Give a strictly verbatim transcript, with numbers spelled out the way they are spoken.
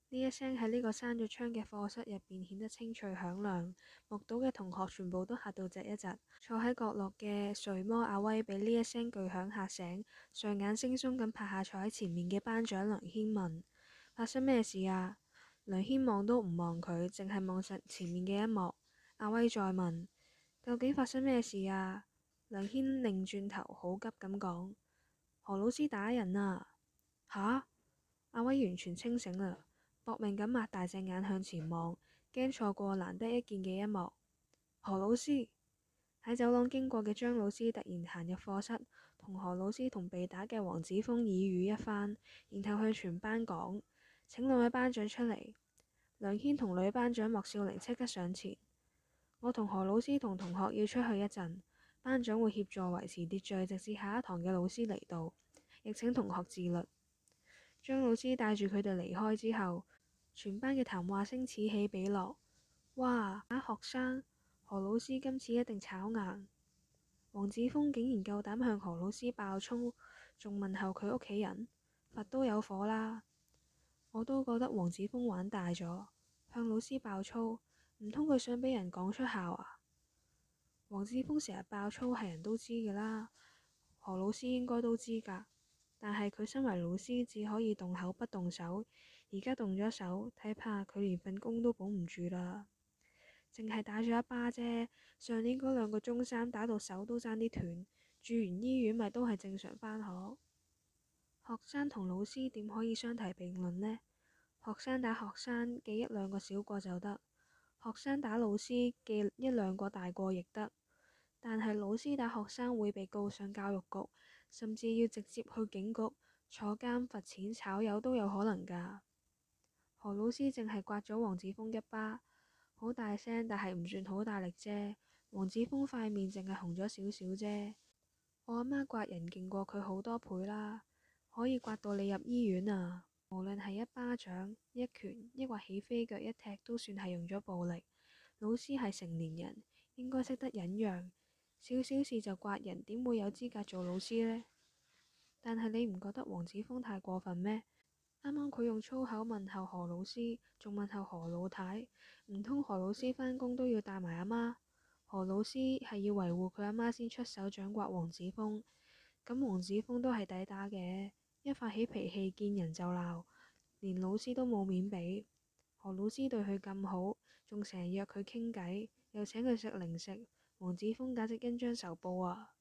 呢一聲喺呢個閂咗窗嘅課室入邊顯得清脆響亮，目睹嘅同學全部都嚇到窒一窒。坐喺角落嘅睡魔阿威被呢一聲巨響嚇醒，睡眼惺忪咁拍下坐喺前面嘅班長梁軒問：發生咩事啊？梁軒望都唔望佢，淨係望實前面嘅一幕。阿威再問：究竟發生咩事啊？梁軒擰轉頭，好急咁講：何老師打人啊！吓？阿威完全清醒啦，搏命咁擘大隻眼向前望，驚錯過難得一見嘅一幕。何老師！喺走廊經過嘅張老師突然行入課室，同何老師同被打嘅黃子峰耳語一番，然後向全班講：請兩位班長出嚟。梁軒同女班長莫少玲即刻上前：我同何老師同同學要出去一陣，班長會協助維持秩序，直至下一堂嘅老師嚟到，亦請同學自律。張老師帶住佢哋離開之後，全班嘅談話聲此起彼落。哇！打學生，何老師今次一定炒硬。黃子峰竟然夠膽向何老師爆粗，仲問候佢屋企人，佛都有火啦！我都覺得黃子峰玩大咗，向老師爆粗，唔通佢想俾人講出校啊？黃子峰成日爆粗係人都知㗎啦，何老師應該都知㗎。但係佢身為老師，只可以動口不動手。而家動咗手，睇怕佢連份工都保唔住啦。淨係打咗一巴啫，上年嗰兩個中三打到手都爭啲斷，住完醫院咪都係正常返學。學生同老師點可以相提並論呢？學生打學生記一兩個小過就得，學生打老師記一兩個大過亦得。但係老師打學生會被告上教育局，甚至要直接去警局坐監、罰錢、炒魷都有可能㗎。何老師淨係刮咗黃子峰一巴，好大聲，但係唔算好大力啫。黃子峰塊面淨係紅咗少少啫。我阿媽刮人勁過佢好多倍啦，可以刮到你入醫院啊！無論係一巴掌、一拳，抑或起飛腳一踢，都算係用咗暴力。老師係成年人，應該識得忍讓。少少事就刮人，點會有資格做老師呢？但係你唔覺得黃子峰太過分咩？啱啱佢用粗口問候何老師，仲問候何老太，唔通何老師返工都要帶埋阿媽？何老師係要維護佢阿媽先出手掌摑黃子峰，咁黃子峰都係抵打嘅，一發起脾氣見人就鬧，連老師都冇面俾。何老師對佢咁好，仲成日約佢傾偈，又請佢食零食。黃子峰簡直恩將仇報啊！